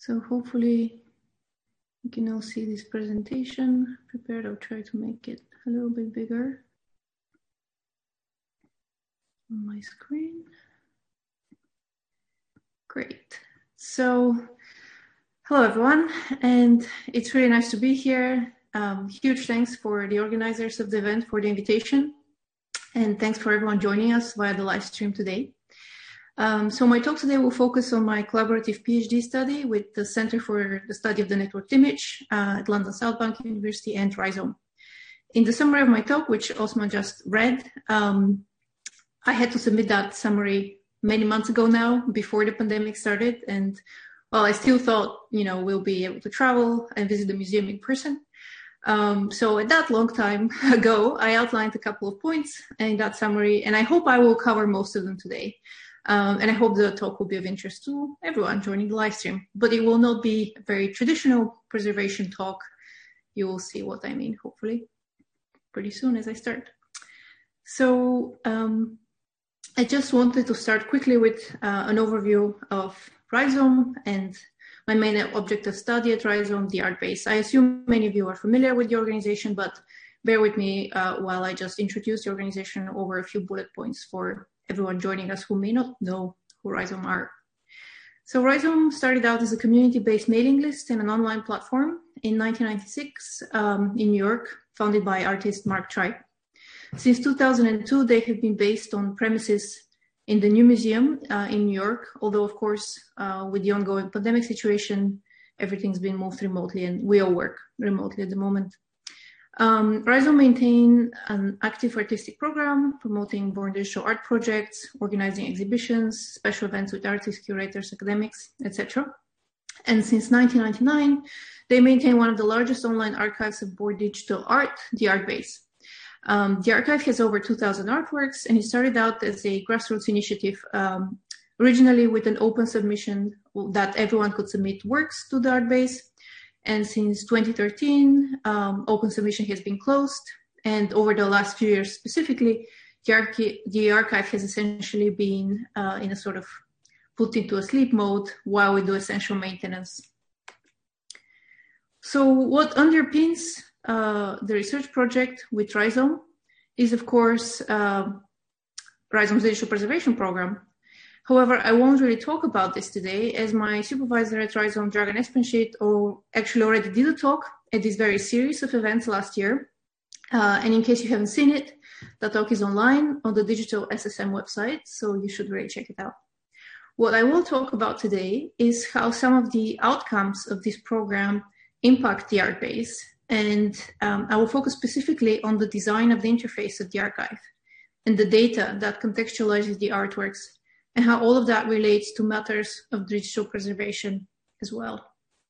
So hopefully you can all see this presentation prepared. I'll try to make it a little bit bigger on my screen. Great. So hello everyone, and it's really nice to be here. Huge thanks for the organizers of the event for the invitation, and thanks for everyone joining us via the live stream today. So my talk today will focus on my collaborative PhD study with the Center for the Study of the Networked Image at London South Bank University and Rhizome. In the summary of my talk, which Osman just read, I had to submit that summary many months ago now, before the pandemic started. And well, I still thought, we'll be able to travel and visit the museum in person. So at that long time ago, I outlined a couple of points in that summary, and I hope I will cover most of them today. And I hope the talk will be of interest to everyone joining the live stream, but it will not be a very traditional preservation talk. You will see what I mean, hopefully, pretty soon as I start. So I just wanted to start quickly with an overview of Rhizome and my main object of study at Rhizome, the ArtBase. I assume many of you are familiar with the organization, but bear with me while I just introduce the organization over a few bullet points for everyone joining us who may not know who Rhizome are. So Rhizome started out as a community-based mailing list and an online platform in 1996 in New York, founded by artist Mark Tribe. Since 2002, they have been based on premises in the New Museum in New York, although of course, with the ongoing pandemic situation, everything's been moved remotely and we all work remotely at the moment. Rhizome maintain an active artistic program promoting born digital art projects, organizing exhibitions, special events with artists, curators, academics, etc. And since 1999, they maintain one of the largest online archives of born digital art, the ArtBase. The archive has over 2,000 artworks, and it started out as a grassroots initiative, originally with an open submission that everyone could submit works to the ArtBase. And since 2013, open submission has been closed. And over the last few years specifically, the archive has essentially been in a sort of put into a sleep mode while we do essential maintenance. So what underpins the research project with Rhizome is, of course, Rhizome's digital preservation program. However, I won't really talk about this today, as my supervisor at Rhizome, Dragan Espenshit, actually already did a talk at this very series of events last year. And in case you haven't seen it, the talk is online on the digital SSM website, so you should really check it out. What I will talk about today is how some of the outcomes of this program impact the ArtBase, and I will focus specifically on the design of the interface of the archive and the data that contextualizes the artworks, and how all of that relates to matters of digital preservation as well.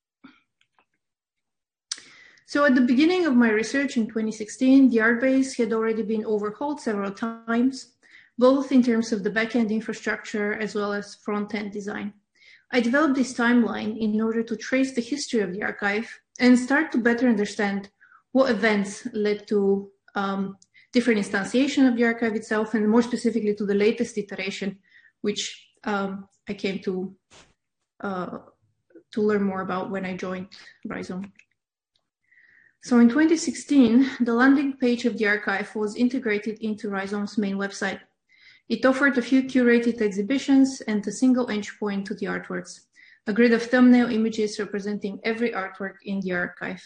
So at the beginning of my research in 2016, the ArtBase had already been overhauled several times, both in terms of the backend infrastructure as well as front-end design. I developed this timeline in order to trace the history of the archive and start to better understand what events led to different instantiation of the archive itself, and more specifically to the latest iteration, which I came to learn more about when I joined Rhizome. So in 2016, the landing page of the archive was integrated into Rhizome's main website. It offered a few curated exhibitions and a single entry point to the artworks, a grid of thumbnail images representing every artwork in the archive.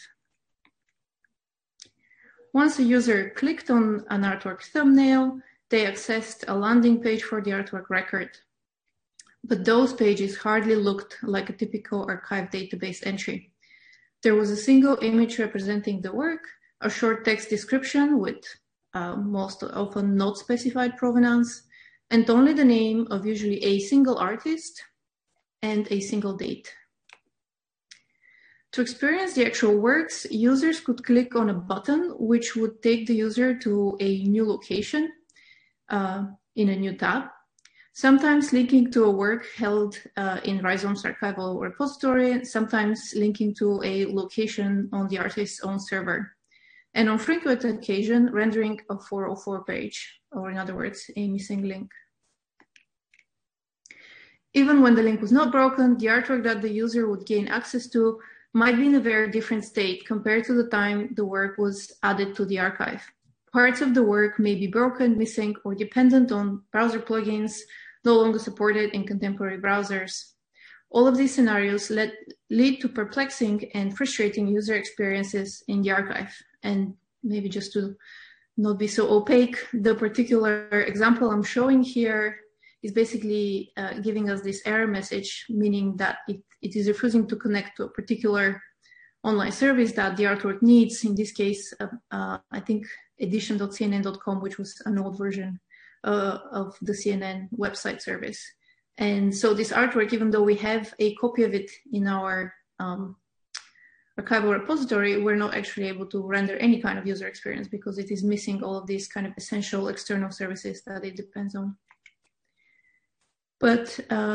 Once a user clicked on an artwork thumbnail, they accessed a landing page for the artwork record. But those pages hardly looked like a typical archive database entry. There was a single image representing the work, a short text description with most often not specified provenance, and only the name of usually a single artist and a single date. To experience the actual works, users could click on a button which would take the user to a new location in a new tab, sometimes linking to a work held in Rhizome's archival repository, sometimes linking to a location on the artist's own server, and on frequent occasion rendering a 404 page, or in other words, a missing link. Even when the link was not broken, the artwork that the user would gain access to might be in a very different state compared to the time the work was added to the archive. Parts of the work may be broken, missing, or dependent on browser plugins no longer supported in contemporary browsers. All of these scenarios lead to perplexing and frustrating user experiences in the archive. And maybe just to not be so opaque, the particular example I'm showing here is basically giving us this error message, meaning that it is refusing to connect to a particular online service that the artwork needs. In this case, I think edition.cnn.com, which was an old version of the CNN website service. And so this artwork, even though we have a copy of it in our archival repository, we're not actually able to render any kind of user experience because it is missing all of these kind of essential external services that it depends on. But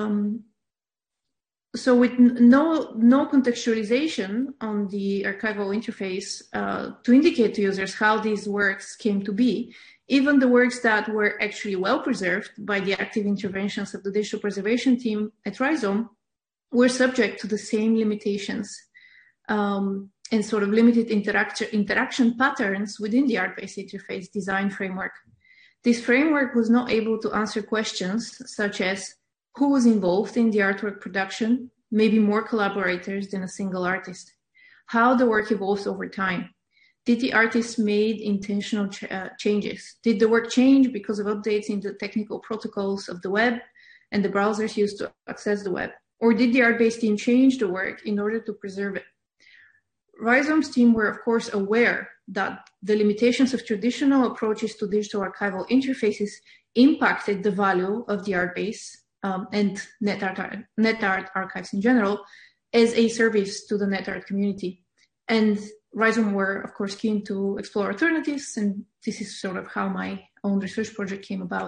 so with no contextualization on the archival interface to indicate to users how these works came to be, even the works that were actually well preserved by the active interventions of the digital preservation team at Rhizome were subject to the same limitations and sort of limited interaction patterns within the art-based interface design framework. This framework was not able to answer questions such as who was involved in the artwork production, maybe more collaborators than a single artist, how the work evolves over time. Did the artist made intentional changes? Did the work change because of updates in the technical protocols of the web and the browsers used to access the web? Or did the art-based team change the work in order to preserve it? Rhizome's team were, of course, aware that the limitations of traditional approaches to digital archival interfaces impacted the value of the art base and NetArt archives in general as a service to the NetArt community. And Rhizome were, of course, keen to explore alternatives, and this is sort of how my own research project came about.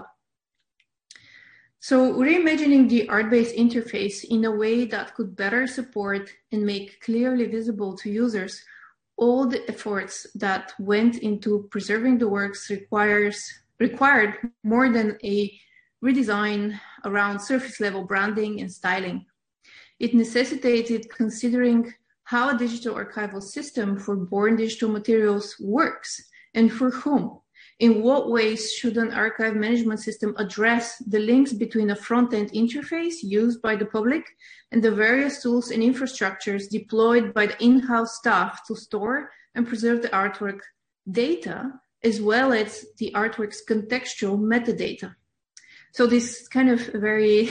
So reimagining the art-based interface in a way that could better support and make clearly visible to users all the efforts that went into preserving the works required more than a redesign around surface level branding and styling. It necessitated considering how a digital archival system for born digital materials works and for whom. In what ways should an archive management system address the links between a front-end interface used by the public and the various tools and infrastructures deployed by the in-house staff to store and preserve the artwork data, as well as the artwork's contextual metadata? So this kind of very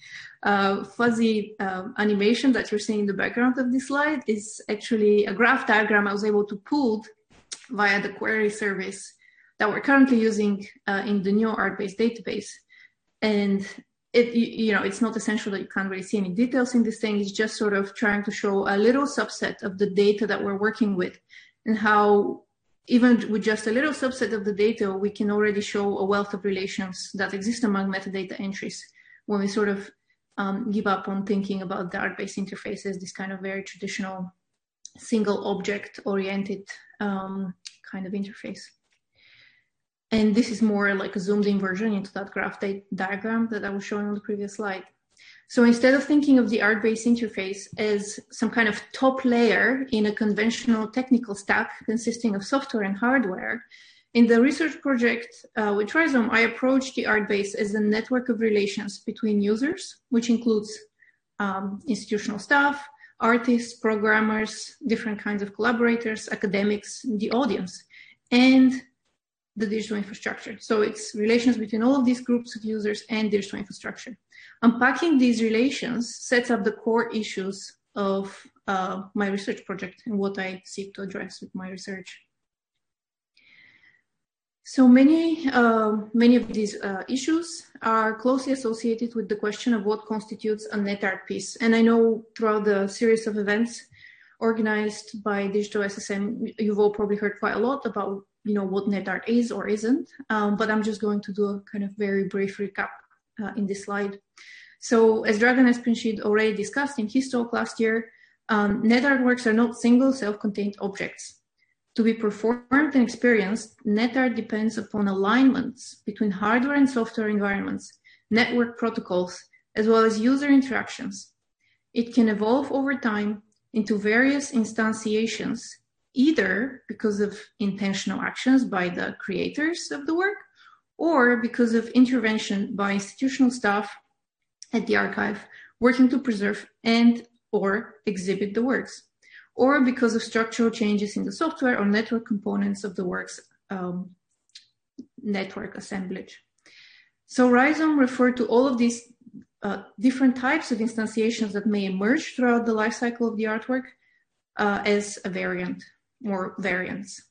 fuzzy animation that you're seeing in the background of this slide is actually a graph diagram I was able to pull via the query service that we're currently using in the new art-based database. And it's not essential that you can't really see any details in this thing. It's just sort of trying to show a little subset of the data that we're working with and how even with just a little subset of the data, we can already show a wealth of relations that exist among metadata entries when we sort of give up on thinking about the art-based interface as this kind of very traditional single object oriented kind of interface. And this is more like a zoomed in version into that graph diagram that I was showing on the previous slide. So instead of thinking of the art-based interface as some kind of top layer in a conventional technical stack consisting of software and hardware, in the research project with Rhizome, I approached the art base as a network of relations between users, which includes institutional staff, artists, programmers, different kinds of collaborators, academics, the audience, and the digital infrastructure. So it's relations between all of these groups of users and digital infrastructure. Unpacking these relations sets up the core issues of my research project and what I seek to address with my research. So many of these issues are closely associated with the question of what constitutes a NetArt piece. And I know throughout the series of events organized by Digital SSM, you've all probably heard quite a lot about what NetArt is or isn't, but I'm just going to do a kind of very brief recap in this slide. So as Dragan Espenshid already discussed in his talk last year, NetArt works are not single self-contained objects. To be performed and experienced, NetArt depends upon alignments between hardware and software environments, network protocols, as well as user interactions. It can evolve over time into various instantiations, either because of intentional actions by the creators of the work, or because of intervention by institutional staff at the archive working to preserve and or exhibit the works, or because of structural changes in the software or network components of the work's network assemblage. So Rhizome referred to all of these different types of instantiations that may emerge throughout the life cycle of the artwork as a variant or variants.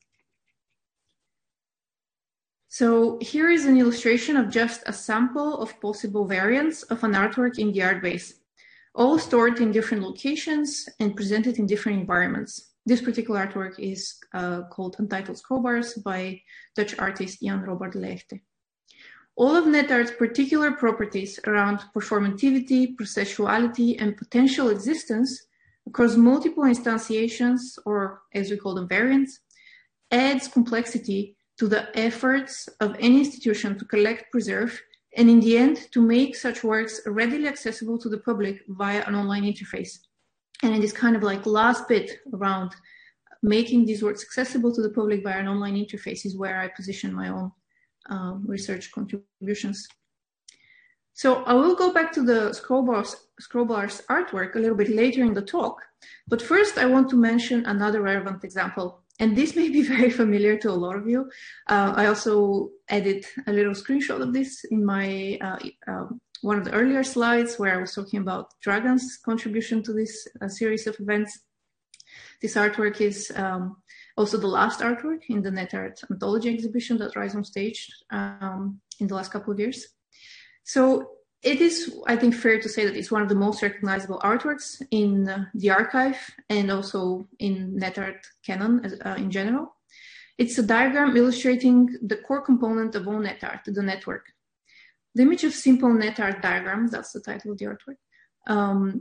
So here is an illustration of just a sample of possible variants of an artwork in the ArtBase, all stored in different locations and presented in different environments. This particular artwork is called Untitled Scrollbars by Dutch artist Jan Robert Leegte. All of NetArt's particular properties around performativity, processuality, and potential existence across multiple instantiations, or as we call them, variants, adds complexity to the efforts of any institution to collect, preserve, and in the end, to make such works readily accessible to the public via an online interface. And in this kind of like last bit around making these works accessible to the public via an online interface is where I position my own research contributions. So I will go back to the Scrollbars artwork a little bit later in the talk, but first I want to mention another relevant example. And this may be very familiar to a lot of you. I also added a little screenshot of this in my one of the earlier slides where I was talking about Dragan's contribution to this series of events. This artwork is also the last artwork in the NetArt Anthology exhibition that Rhizome staged in the last couple of years. So it is, I think, fair to say that it's one of the most recognizable artworks in the archive and also in NetArt canon in general. It's a diagram illustrating the core component of all NetArt, the network. The image of simple NetArt diagram, that's the title of the artwork.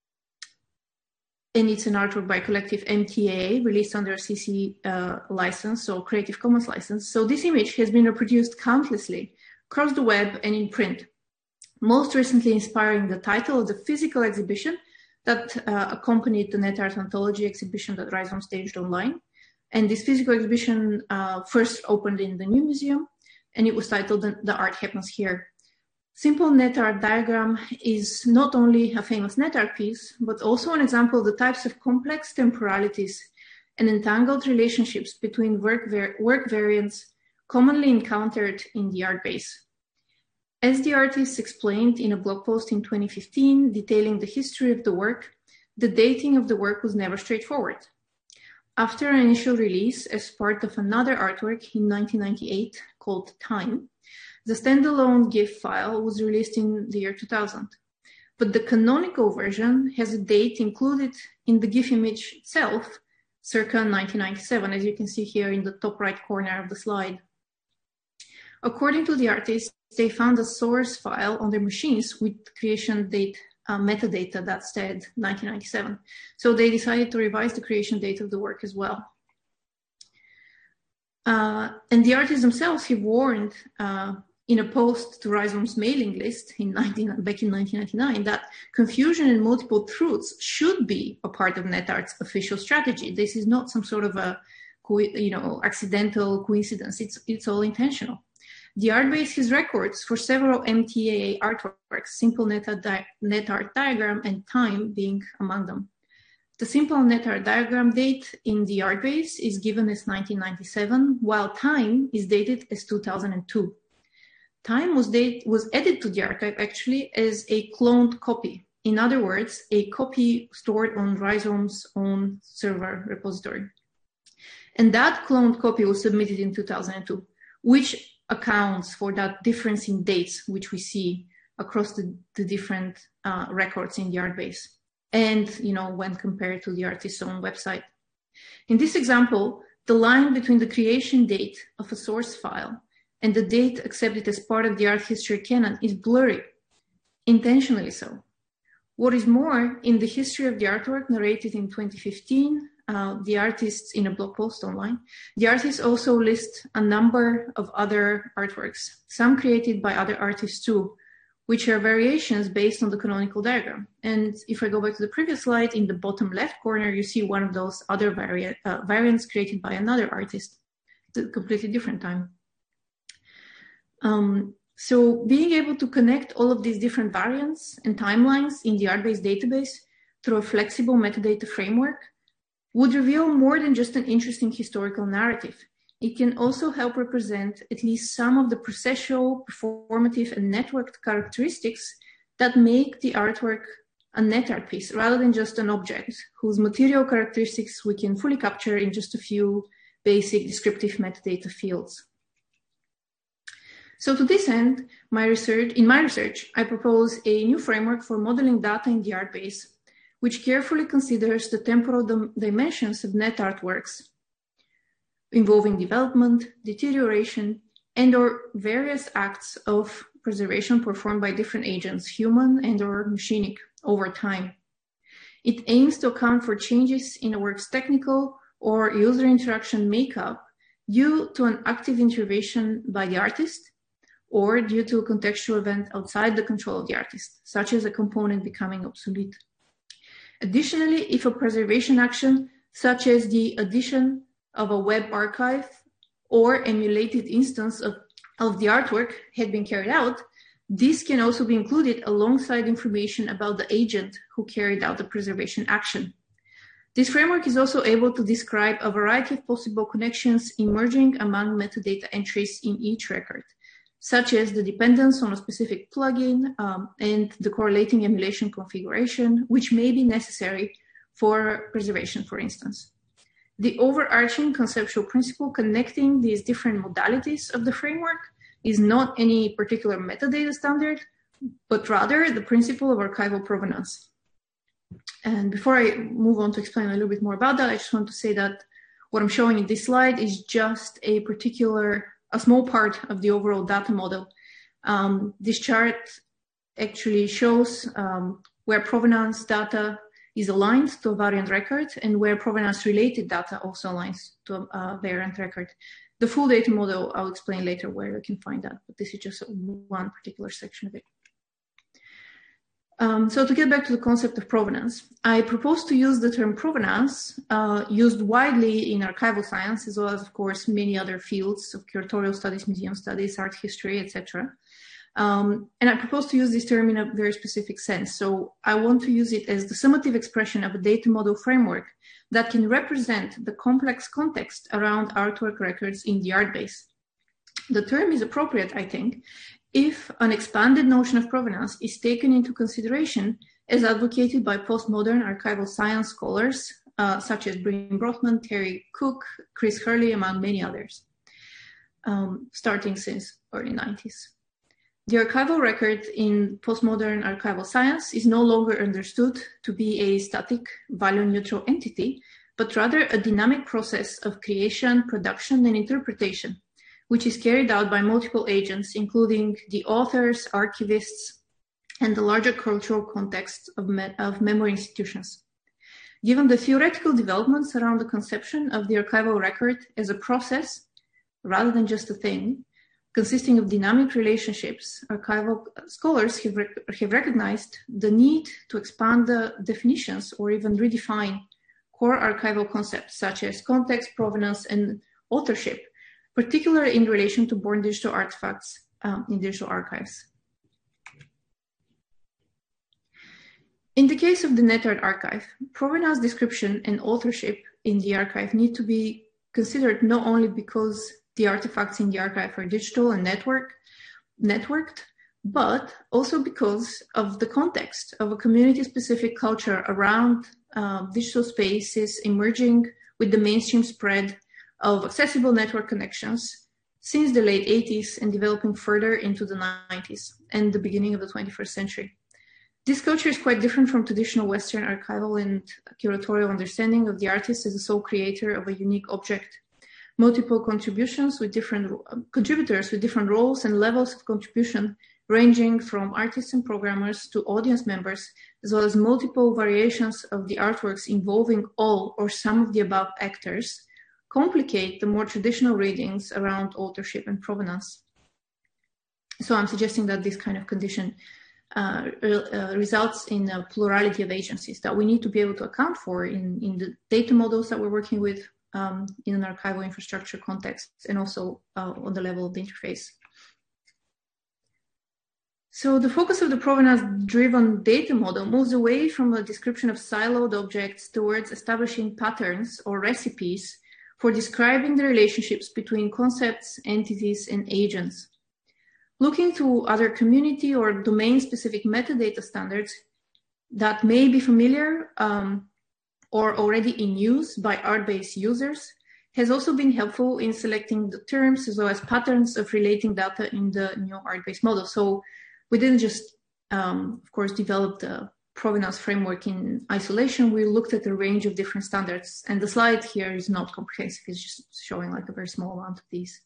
And it's an artwork by Collective MTA, released under a CC license, so Creative Commons license. So this image has been reproduced countlessly across the web and in print, most recently inspiring the title of the physical exhibition that accompanied the NetArt Anthology exhibition that Rhizome staged online. And this physical exhibition first opened in the New Museum, and it was titled The Art Happens Here. Simple NetArt diagram is not only a famous NetArt piece, but also an example of the types of complex temporalities and entangled relationships between work variants commonly encountered in the ArtBase. As the artist explained in a blog post in 2015 detailing the history of the work, the dating of the work was never straightforward. After an initial release as part of another artwork in 1998 called Time, the standalone GIF file was released in the year 2000, but the canonical version has a date included in the GIF image itself, circa 1997, as you can see here in the top right corner of the slide. According to the artists, they found a source file on their machines with creation date metadata that said 1997. So they decided to revise the creation date of the work as well. And the artists themselves have warned in a post to Rhizome's mailing list back in 1999 that confusion and multiple truths should be a part of NetArt's official strategy. This is not some sort of a accidental coincidence. It's all intentional. The ArtBase has records for several MTA artworks, Simple NetArt diagram and Time being among them. The Simple NetArt diagram date in the ArtBase is given as 1997, while Time is dated as 2002. Time was added to the archive actually as a cloned copy. In other words, a copy stored on Rhizome's own server repository. And that cloned copy was submitted in 2002, which accounts for that difference in dates, which we see across the different records in the ArtBase. And, when compared to the artist's own website. In this example, the line between the creation date of a source file and the date accepted as part of the art history canon is blurry, intentionally so. What is more, in the history of the artwork narrated in 2015, the artists in a blog post online, the artists also list a number of other artworks, some created by other artists too, which are variations based on the canonical diagram. And if I go back to the previous slide, in the bottom left corner, you see one of those other variants created by another artist at a completely different time. So being able to connect all of these different variants and timelines in the ArtBase database through a flexible metadata framework would reveal more than just an interesting historical narrative. It can also help represent at least some of the processual, performative, and networked characteristics that make the artwork a net art piece rather than just an object whose material characteristics we can fully capture in just a few basic descriptive metadata fields. So to this end, in my research, I propose a new framework for modeling data in the ArtBase, which carefully considers the temporal dimensions of net artworks, involving development, deterioration, and/or various acts of preservation performed by different agents, human and/or machinic, over time. It aims to account for changes in a work's technical or user interaction makeup due to an active intervention by the artist, or due to a contextual event outside the control of the artist, such as a component becoming obsolete. Additionally, if a preservation action, such as the addition of a web archive or emulated instance of the artwork had been carried out, this can also be included alongside information about the agent who carried out the preservation action. This framework is also able to describe a variety of possible connections emerging among metadata entries in each record, such as the dependence on a specific plugin and the correlating emulation configuration, which may be necessary for preservation, for instance. The overarching conceptual principle connecting these different modalities of the framework is not any particular metadata standard, but rather the principle of archival provenance. And before I move on to explain a little bit more about that, I just want to say that what I'm showing in this slide is just a small part of the overall data model. This chart actually shows where provenance data is aligned to a variant record and where provenance related data also aligns to a variant record. The full data model, I'll explain later where you can find that, but this is just one particular section of it. So to get back to the concept of provenance, I propose to use the term provenance used widely in archival science, as well as, of course, many other fields of curatorial studies, museum studies, art history, etc. And I propose to use this term in a very specific sense. So I want to use it as the summative expression of a data model framework that can represent the complex context around artwork records in the ArtBase. The term is appropriate, I think, if an expanded notion of provenance is taken into consideration as advocated by postmodern archival science scholars, such as Bryn Brothman, Terry Cook, Chris Hurley, among many others, starting since early 90s. The archival record in postmodern archival science is no longer understood to be a static, value-neutral entity, but rather a dynamic process of creation, production, and interpretation, which is carried out by multiple agents, including the authors, archivists, and the larger cultural context of memory institutions. Given the theoretical developments around the conception of the archival record as a process, rather than just a thing, consisting of dynamic relationships, archival scholars have recognized the need to expand the definitions or even redefine core archival concepts such as context, provenance, and authorship, particularly in relation to born digital artifacts in digital archives. In the case of the NetArt archive, provenance description and authorship in the archive need to be considered not only because the artifacts in the archive are digital and networked, but also because of the context of a community-specific culture around digital spaces emerging with the mainstream spread of accessible network connections since the late 80s and developing further into the 90s and the beginning of the 21st century. This culture is quite different from traditional Western archival and curatorial understanding of the artist as a sole creator of a unique object. Multiple contributors with different roles and levels of contribution, ranging from artists and programmers to audience members, as well as multiple variations of the artworks involving all or some of the above actors, complicate the more traditional readings around authorship and provenance. So I'm suggesting that this kind of condition results in a plurality of agencies that we need to be able to account for in the data models that we're working with in an archival infrastructure context, and also on the level of the interface. So the focus of the provenance-driven data model moves away from a description of siloed objects towards establishing patterns or recipes for describing the relationships between concepts, entities, and agents. Looking to other community or domain-specific metadata standards that may be familiar or already in use by Artbase users has also been helpful in selecting the terms as well as patterns of relating data in the new Artbase model. So we didn't just, of course, develop the provenance framework in isolation. We looked at a range of different standards, and the slide here is not comprehensive. It's just showing like a very small amount of these.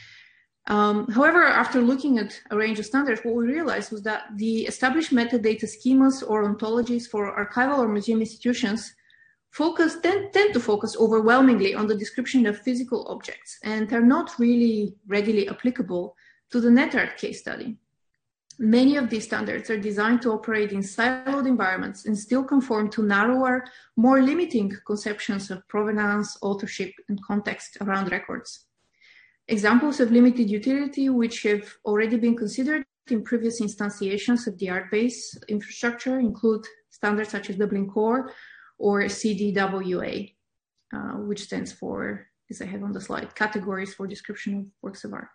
However, after looking at a range of standards, what we realized was that the established metadata schemas or ontologies for archival or museum institutions tend to focus overwhelmingly on the description of physical objects, and are not really readily applicable to the NetArt case study. Many of these standards are designed to operate in siloed environments and still conform to narrower, more limiting conceptions of provenance, authorship, and context around records. Examples of limited utility, which have already been considered in previous instantiations of the Artbase infrastructure, include standards such as Dublin Core or CDWA, which stands for, as I have on the slide, Categories for Description of Works of Art.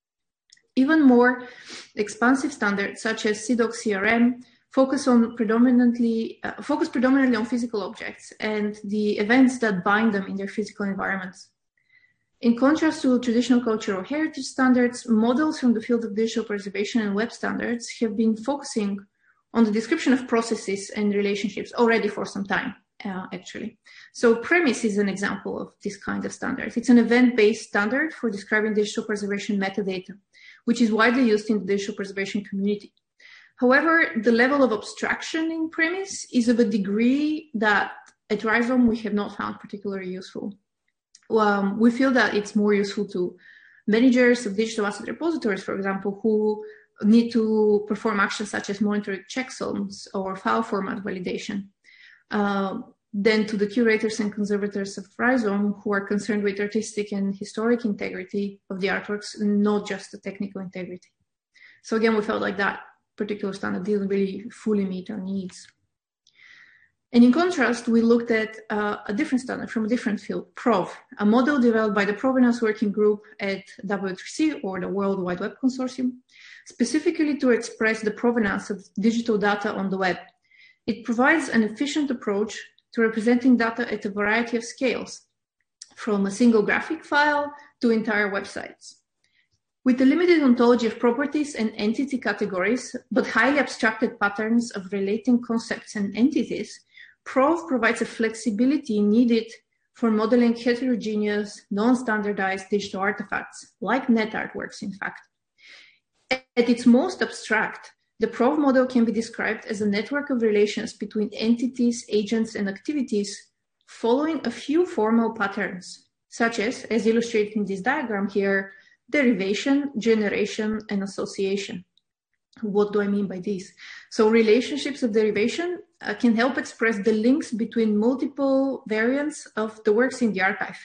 Even more expansive standards, such as CDOC CRM, focus predominantly on physical objects and the events that bind them in their physical environments. In contrast to traditional cultural heritage standards, models from the field of digital preservation and web standards have been focusing on the description of processes and relationships already for some time, actually. So Premise is an example of this kind of standard. It's an event-based standard for describing digital preservation metadata, which is widely used in the digital preservation community. However, the level of abstraction in Premise is of a degree that at Rhizome we have not found particularly useful. We feel that it's more useful to managers of digital asset repositories, for example, who need to perform actions such as monitoring checksums or file format validation, than to the curators and conservators of Rhizome, who are concerned with artistic and historic integrity of the artworks, not just the technical integrity. So again, we felt like that particular standard didn't really fully meet our needs. And in contrast, we looked at a different standard from a different field, PROV, a model developed by the Provenance Working Group at W3C, or the World Wide Web Consortium, specifically to express the provenance of digital data on the web. It provides an efficient approach to representing data at a variety of scales, from a single graphic file to entire websites. With a limited ontology of properties and entity categories, but highly abstracted patterns of relating concepts and entities, PROV provides a flexibility needed for modeling heterogeneous, non-standardized digital artifacts, like NetArt works, in fact. At its most abstract, the PROV model can be described as a network of relations between entities, agents, and activities following a few formal patterns, such as illustrated in this diagram here, derivation, generation, and association. What do I mean by this? So relationships of derivation can help express the links between multiple variants of the works in the archive.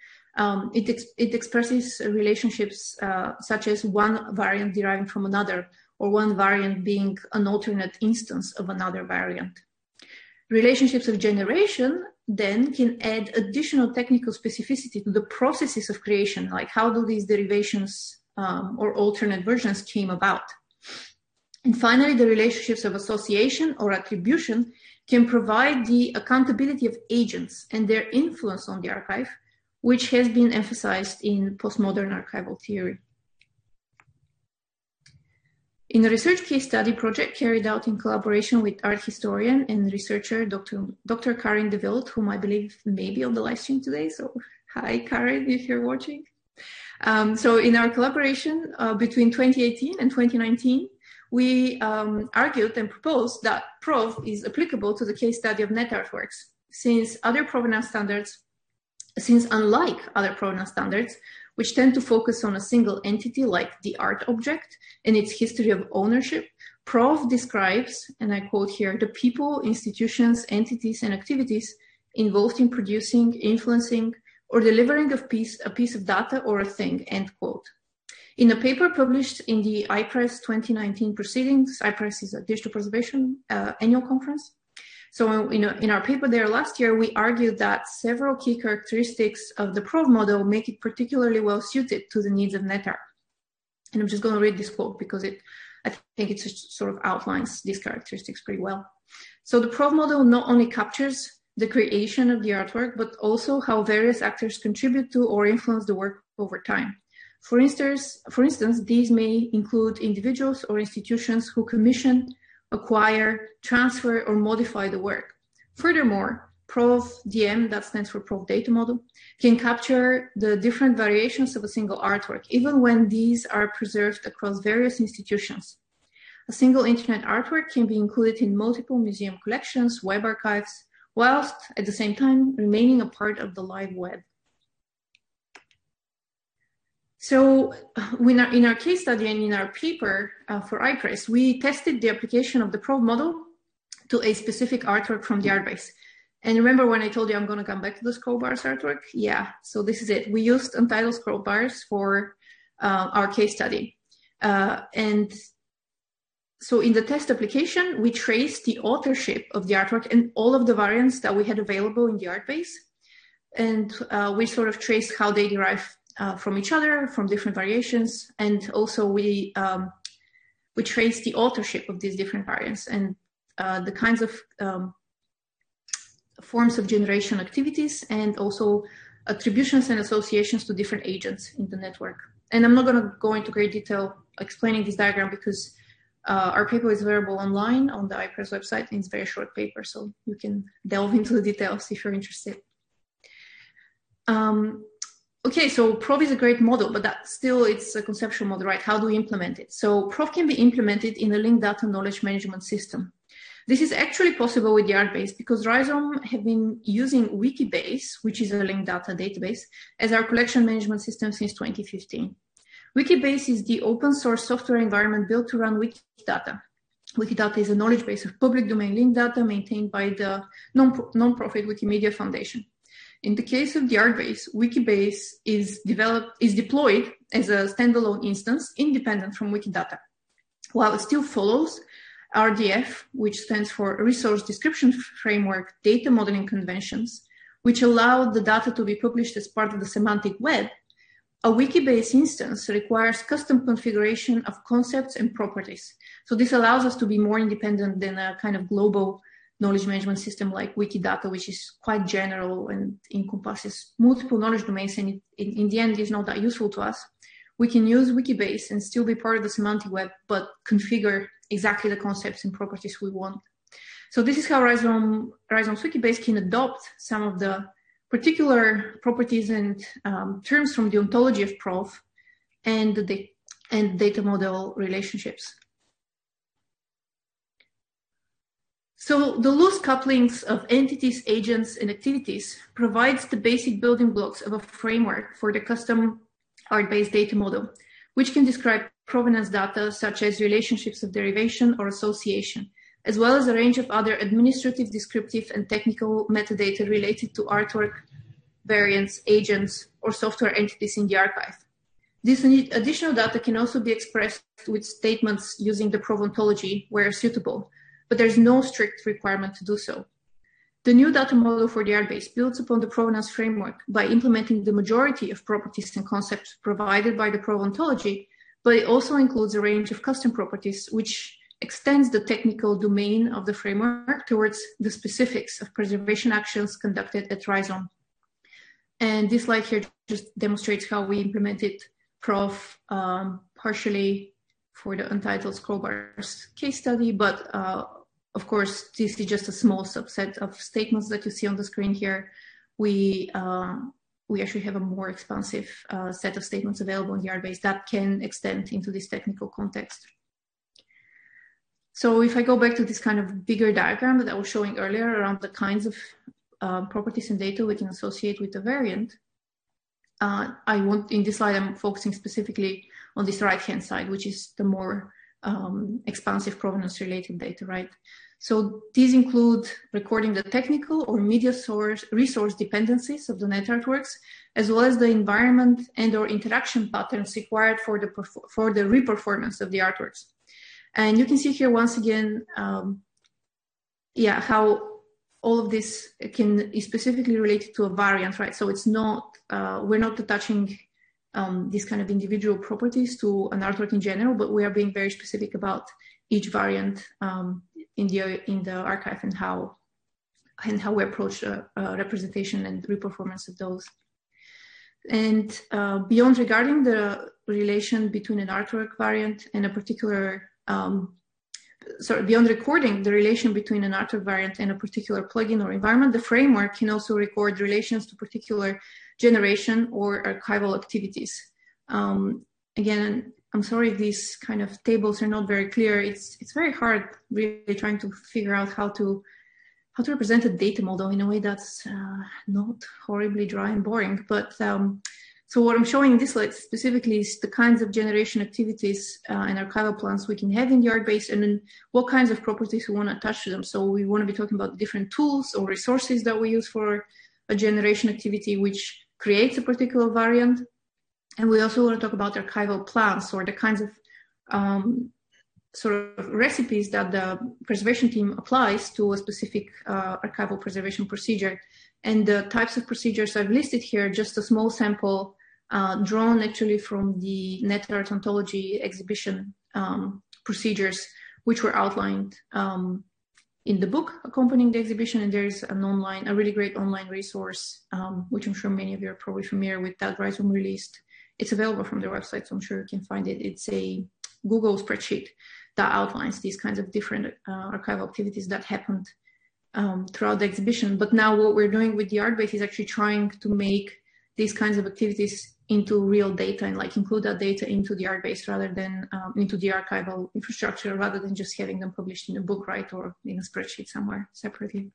It expresses relationships such as one variant deriving from another, or one variant being an alternate instance of another variant. Relationships of generation then can add additional technical specificity to the processes of creation, like how do these derivations or alternate versions came about. And finally, the relationships of association or attribution can provide the accountability of agents and their influence on the archive, which has been emphasized in postmodern archival theory. In a research case study project carried out in collaboration with art historian and researcher Dr. Karin de Wild, whom I believe may be on the live stream today. So hi, Karin, if you're watching. So in our collaboration between 2018 and 2019, we argued and proposed that PROV is applicable to the case study of NetArt works, since unlike other provenance standards, which tend to focus on a single entity like the art object and its history of ownership, PROV describes, and I quote here, the people, institutions, entities, and activities involved in producing, influencing, or delivering a piece of data or a thing, end quote. In a paper published in the IPRESS 2019 proceedings, IPRESS is a digital preservation annual conference. So in our paper there last year, we argued that several key characteristics of the PROV model make it particularly well suited to the needs of NetArt. And I'm just going to read this quote because I think it sort of outlines these characteristics pretty well. So the PROV model not only captures the creation of the artwork, but also how various actors contribute to or influence the work over time. For instance, these may include individuals or institutions who commission, acquire, transfer, or modify the work. Furthermore, PROV-DM, that stands for PROV data model, can capture the different variations of a single artwork, even when these are preserved across various institutions. A single internet artwork can be included in multiple museum collections, web archives, whilst at the same time remaining a part of the live web. So in our case study and in our paper for IPRESS, we tested the application of the PROV model to a specific artwork from the ArtBase. And remember when I told you I'm going to come back to the scroll bars artwork? Yeah, so this is it. We used untitled scroll bars for our case study. And so in the test application, we traced the authorship of the artwork and all of the variants that we had available in the ArtBase. And we sort of traced how they derive from each other, from different variations. And also we traced the authorship of these different variants and the kinds of forms of generation activities and also attributions and associations to different agents in the network. And I'm not going to go into great detail explaining this diagram because our paper is available online on the IPRESS website. And it's a very short paper, so you can delve into the details if you're interested. Okay, so PROV is a great model, but that still it's a conceptual model, right? How do we implement it? So PROV can be implemented in a linked data knowledge management system. This is actually possible with the ArtBase because Rhizome have been using Wikibase, which is a linked data database, as our collection management system since 2015. Wikibase is the open source software environment built to run Wikidata. Wikidata is a knowledge base of public domain linked data maintained by the non-profit Wikimedia Foundation. In the case of the ArtBase, Wikibase is deployed as a standalone instance independent from Wikidata. While it still follows RDF, which stands for Resource Description Framework Data Modeling Conventions, which allow the data to be published as part of the semantic web, a Wikibase instance requires custom configuration of concepts and properties. So this allows us to be more independent than a kind of global knowledge management system like Wikidata, which is quite general and encompasses multiple knowledge domains, and in the end is not that useful to us. We can use Wikibase and still be part of the semantic web, but configure exactly the concepts and properties we want. So this is how Rhizome's Wikibase can adopt some of the particular properties and terms from the ontology of PROV and the data model relationships. So the loose couplings of entities, agents, and activities provides the basic building blocks of a framework for the custom ArtBase data model, which can describe provenance data such as relationships of derivation or association, as well as a range of other administrative, descriptive, and technical metadata related to artwork, variants, agents, or software entities in the archive. This additional data can also be expressed with statements using the PROV ontology where suitable, but there's no strict requirement to do so. The new data model for the ArtBase builds upon the provenance framework by implementing the majority of properties and concepts provided by the PROV ontology, but it also includes a range of custom properties which extends the technical domain of the framework towards the specifics of preservation actions conducted at Rhizome. And this slide here just demonstrates how we implemented PROV partially for the untitled scroll bars case study, but of course, this is just a small subset of statements that you see on the screen here. We actually have a more expansive set of statements available in the ArtBase that can extend into this technical context. So if I go back to this kind of bigger diagram that I was showing earlier around the kinds of properties and data we can associate with the variant, in this slide, I'm focusing specifically on this right-hand side, which is the more expansive provenance-related data, right? So these include recording the technical or media resource dependencies of the net artworks, as well as the environment and/or interaction patterns required for the reperformance of the artworks. And you can see here once again, how all of this is specifically related to a variant, right? So it's not, we're not attaching these kind of individual properties to an artwork in general, but we are being very specific about each variant in the archive and how we approach representation and reperformance of those. And beyond regarding the relation between an artwork variant and a particular, beyond recording the relation between an artwork variant and a particular plugin or environment, the framework can also record relations to particular generation or archival activities. Again, I'm sorry if these kind of tables are not very clear. It's very hard really trying to figure out how to represent a data model in a way that's not horribly dry and boring. But so what I'm showing in this slide specifically is the kinds of generation activities and archival plans we can have in the ArcBase, and then what kinds of properties we want to attach to them. So we want to be talking about different tools or resources that we use for a generation activity which creates a particular variant. And we also want to talk about archival plans, or the kinds of sort of recipes that the preservation team applies to a specific archival preservation procedure. And the types of procedures I've listed here, just a small sample drawn actually from the NetArt Ontology exhibition procedures, which were outlined in the book accompanying the exhibition. And there's a really great online resource, which I'm sure many of you are probably familiar with, that Rhizome released. It's available from their website, so I'm sure you can find it. It's a Google spreadsheet that outlines these kinds of different archival activities that happened throughout the exhibition. But now what we're doing with the ArcBase is actually trying to make these kinds of activities into real data and like include that data into the ArcBase rather than into the archival infrastructure, rather than just having them published in a book, right, or in a spreadsheet somewhere separately.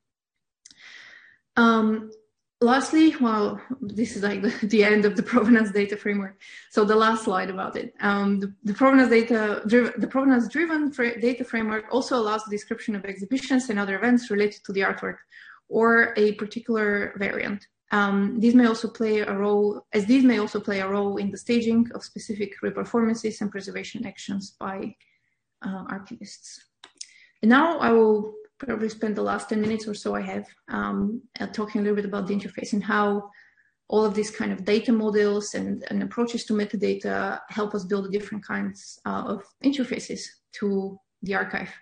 Lastly, well, this is like the end of the provenance data framework. So the last slide about it. The provenance-driven data framework also allows the description of exhibitions and other events related to the artwork or a particular variant. These may also play a role in the staging of specific reperformances and preservation actions by archivists. And now I will probably spend the last 10 minutes or so I have talking a little bit about the interface and how all of these kind of data models and approaches to metadata help us build different kinds of interfaces to the archive.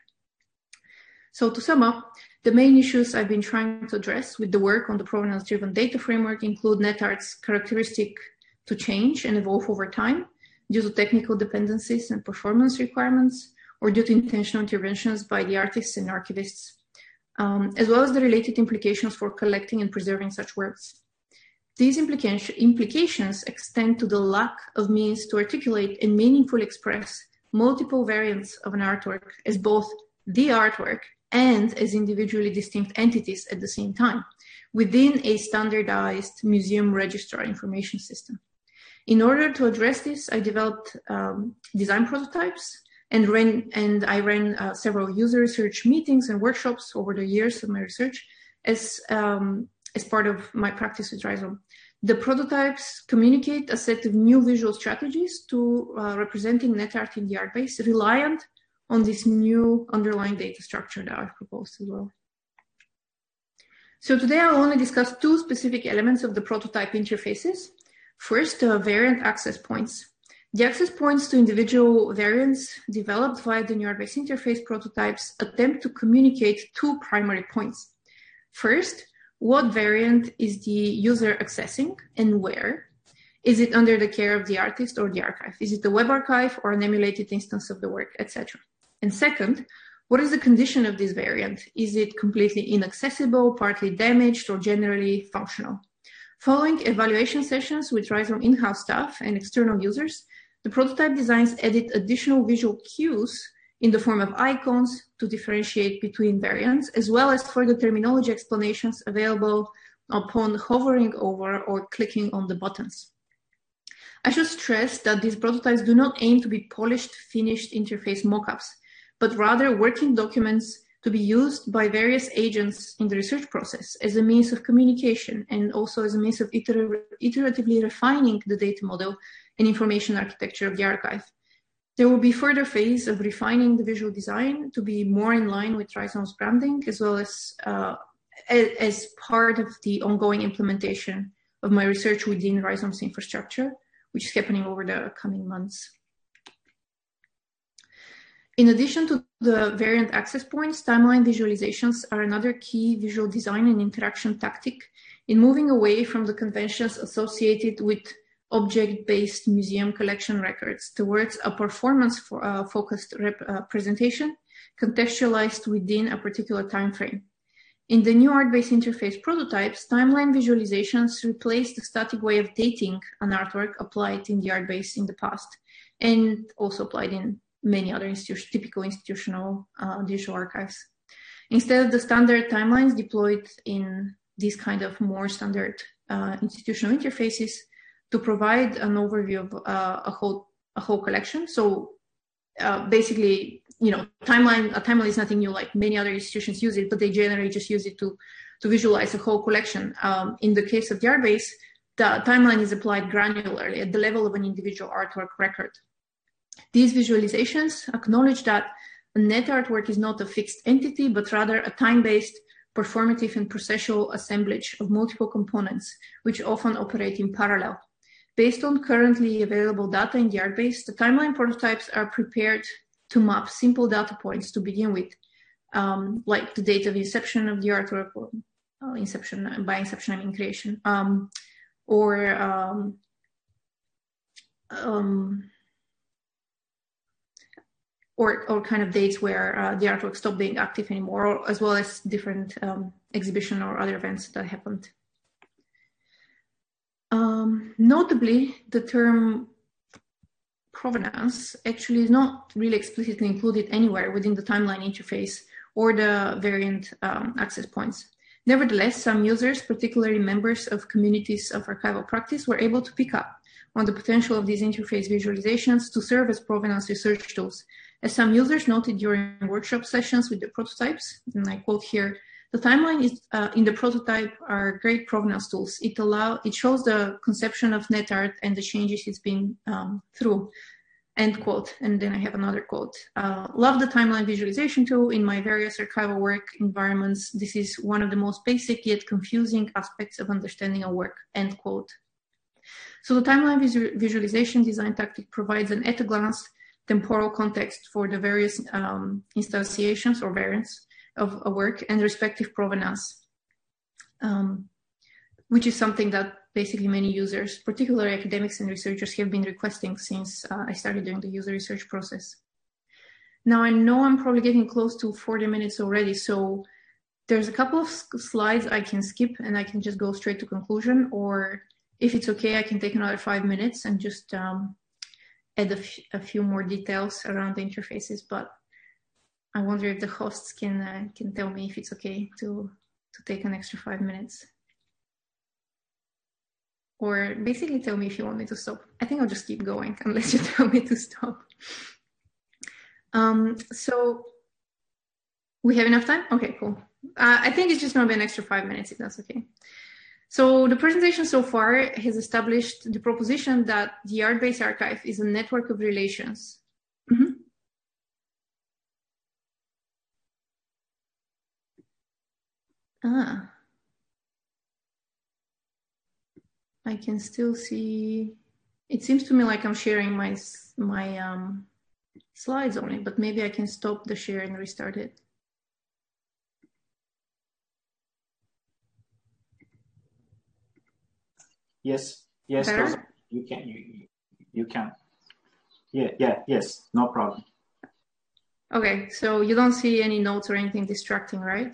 So to sum up, the main issues I've been trying to address with the work on the provenance-driven data framework include NetArt's characteristic to change and evolve over time due to technical dependencies and performance requirements, or due to intentional interventions by the artists and archivists, as well as the related implications for collecting and preserving such works. These implications extend to the lack of means to articulate and meaningfully express multiple variants of an artwork as both the artwork and as individually distinct entities at the same time within a standardized museum registrar information system. In order to address this, I developed design prototypes and I ran several user research meetings and workshops over the years of my research as part of my practice with Rhizome. The prototypes communicate a set of new visual strategies to representing NetArt in the ArcBase, reliant on this new underlying data structure that I've proposed as well. So today I will only discuss two specific elements of the prototype interfaces. First, variant access points. The access points to individual variants developed via the new ArcBase interface prototypes attempt to communicate two primary points. First, what variant is the user accessing and where? Is it under the care of the artist or the archive? Is it a web archive or an emulated instance of the work, etc.? And second, what is the condition of this variant? Is it completely inaccessible, partly damaged, or generally functional? Following evaluation sessions with Rhizome in-house staff and external users, the prototype designs added additional visual cues in the form of icons to differentiate between variants, as well as further terminology explanations available upon hovering over or clicking on the buttons. I should stress that these prototypes do not aim to be polished, finished interface mockups, but rather working documents to be used by various agents in the research process as a means of communication and also as a means of iteratively refining the data model and information architecture of the archive. There will be further phase of refining the visual design to be more in line with Rhizome's branding, as well as part of the ongoing implementation of my research within Rhizome's infrastructure, which is happening over the coming months. In addition to the variant access points, timeline visualizations are another key visual design and interaction tactic in moving away from the conventions associated with object-based museum collection records towards a performance-focused presentation contextualized within a particular time frame. In the new art-based interface prototypes, timeline visualizations replace the static way of dating an artwork applied in the art-based in the past, and also applied in many other typical institutional digital archives. Instead of the standard timelines deployed in these kind of more standard institutional interfaces to provide an overview of a whole collection. So basically, you know, a timeline is nothing new, like many other institutions use it, but they generally just use it to visualize a whole collection. In the case of the art-based, the timeline is applied granularly at the level of an individual artwork record. These visualizations acknowledge that a net artwork is not a fixed entity, but rather a time-based, performative and processual assemblage of multiple components, which often operate in parallel. Based on currently available data in the art-based, the timeline prototypes are prepared to map simple data points to begin with, like the date of inception of the artwork, or inception, by inception I mean creation, or kind of dates where the artwork stopped being active anymore, as well as different exhibition or other events that happened. Notably, the term provenance actually is not really explicitly included anywhere within the timeline interface or the variant access points. Nevertheless, some users, particularly members of communities of archival practice, were able to pick up on the potential of these interface visualizations to serve as provenance research tools. As some users noted during workshop sessions with the prototypes, and I quote here, the timeline is in the prototype are great provenance tools. It shows the conception of net art and the changes it's been through, end quote. And then I have another quote. Love the timeline visualization tool in my various archival work environments. This is one of the most basic yet confusing aspects of understanding a work, end quote. So the timeline visualization design tactic provides an at-a-glance temporal context for the various instantiations or variants of a work and respective provenance, which is something that basically many users, particularly academics and researchers, have been requesting since I started doing the user research process. Now, I know I'm probably getting close to 40 minutes already, so there's a couple of slides I can skip and I can just go straight to conclusion, or if it's okay, I can take another 5 minutes and just add a few more details around the interfaces, but I wonder if the hosts can tell me if it's okay to take an extra 5 minutes. Or basically tell me if you want me to stop. I think I'll just keep going unless you tell me to stop. So we have enough time? Okay, cool. I think it's just gonna be an extra 5 minutes if that's okay. So the presentation so far has established the proposition that the art-based archive is a network of relations. Mm-hmm. I can still see, it seems to me like I'm sharing my slides only, but maybe I can stop the share and restart it. Yes, you can. Yes, no problem. Okay, so you don't see any notes or anything distracting, right?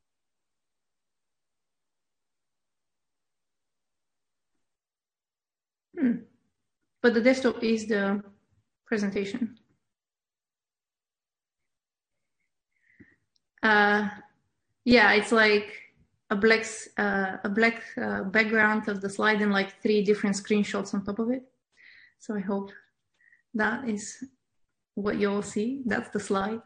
But the desktop is the presentation. Yeah, it's like a black background of the slide and like 3 different screenshots on top of it. So I hope that is what you all see. That's the slide.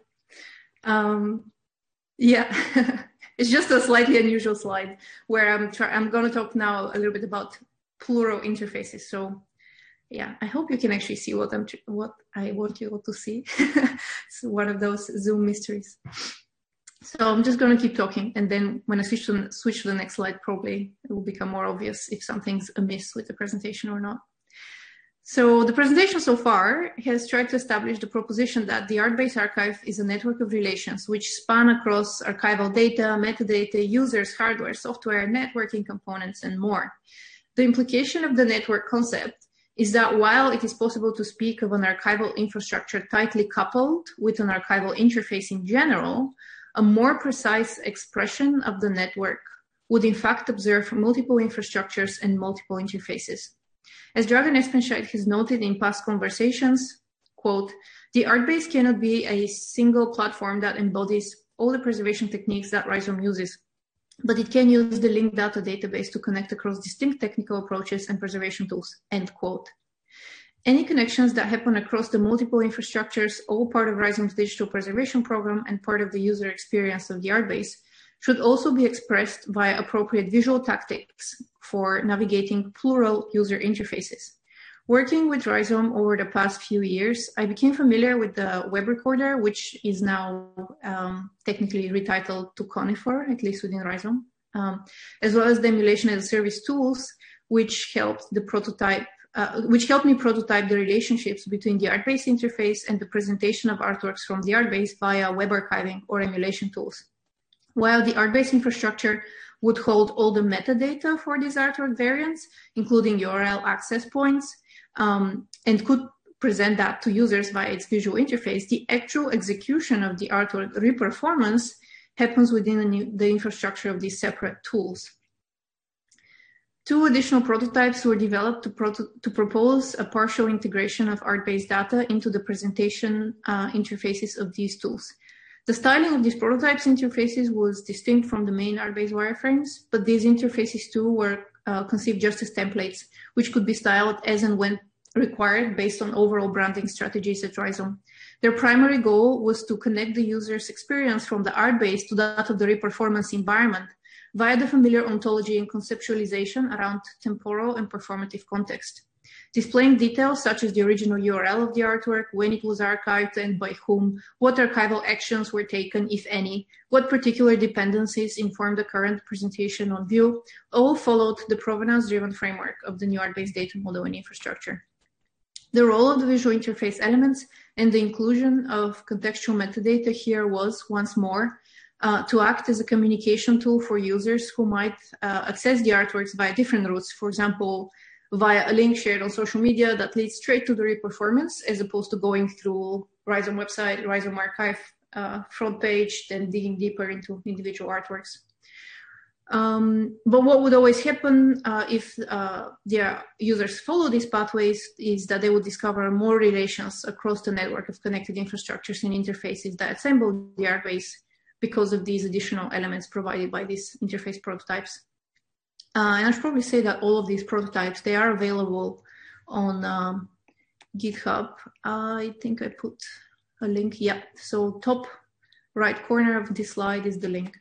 Yeah, it's just a slightly unusual slide where I'm going to talk now a little bit about plural interfaces. So yeah, I hope you can actually see what I want you all to see. It's one of those Zoom mysteries. So I'm just going to keep talking, and then when I switch to the next slide, probably it will become more obvious if something's amiss with the presentation or not. So the presentation so far has tried to establish the proposition that the Artbase archive is a network of relations which span across archival data, metadata, users, hardware, software, networking components, and more. The implication of the network concept is that while it is possible to speak of an archival infrastructure tightly coupled with an archival interface in general, a more precise expression of the network would in fact observe multiple infrastructures and multiple interfaces. As Dragan Espenscheid has noted in past conversations, quote, the Artbase cannot be a single platform that embodies all the preservation techniques that Rhizome uses, but it can use the linked data database to connect across distinct technical approaches and preservation tools, end quote. Any connections that happen across the multiple infrastructures, all part of Rhizome's digital preservation program and part of the user experience of the Artbase, should also be expressed via appropriate visual tactics for navigating plural user interfaces. Working with Rhizome over the past few years, I became familiar with the web recorder, which is now technically retitled to Conifer, at least within Rhizome, as well as the emulation as a service tools, which helped me prototype the relationships between the Artbase interface and the presentation of artworks from the Artbase via web archiving or emulation tools. While the Artbase infrastructure would hold all the metadata for these artwork variants, including URL access points, and could present that to users via its visual interface, the actual execution of the artwork reperformance happens within the infrastructure of these separate tools. Two additional prototypes were developed to propose a partial integration of Artbase data into the presentation interfaces of these tools. The styling of these prototypes interfaces was distinct from the main Artbase wireframes, but these interfaces too were conceived just as templates, which could be styled as and when required based on overall branding strategies at Rhizome. Their primary goal was to connect the user's experience from the Artbase to that of the reperformance environment via the familiar ontology and conceptualization around temporal and performative context. Displaying details such as the original URL of the artwork, when it was archived and by whom, what archival actions were taken, if any, what particular dependencies inform the current presentation on view, all followed the provenance-driven framework of the new Artbase data model and infrastructure. The role of the visual interface elements and the inclusion of contextual metadata here was, once more, to act as a communication tool for users who might access the artworks via different routes, for example, via a link shared on social media that leads straight to the reperformance, as opposed to going through Rhizome website, Rhizome archive front page, then digging deeper into individual artworks. But what would always happen if the users follow these pathways is that they would discover more relations across the network of connected infrastructures and interfaces that assemble the Artbase because of these additional elements provided by these interface prototypes. And I should probably say that all of these prototypes, they are available on GitHub. I think I put a link. Yeah, so top right corner of this slide is the link.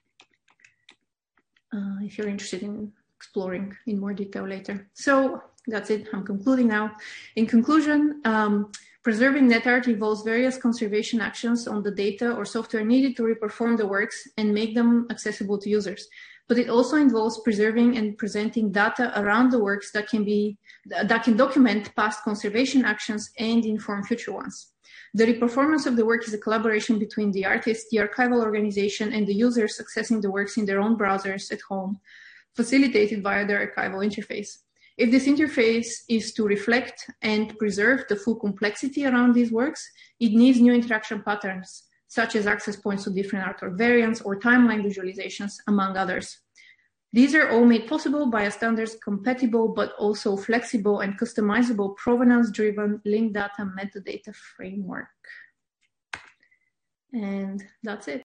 If you're interested in exploring in more detail later. So that's it, I'm concluding now. In conclusion, preserving NetArt involves various conservation actions on the data or software needed to reperform the works and make them accessible to users. But it also involves preserving and presenting data around the works that can document past conservation actions and inform future ones. The reperformance of the work is a collaboration between the artist, the archival organization, and the users accessing the works in their own browsers at home, facilitated via their archival interface. If this interface is to reflect and preserve the full complexity around these works, it needs new interaction patterns, such as access points to different artwork variants or timeline visualizations, among others. These are all made possible by a standards compatible but also flexible and customizable provenance-driven linked data metadata framework. And that's it.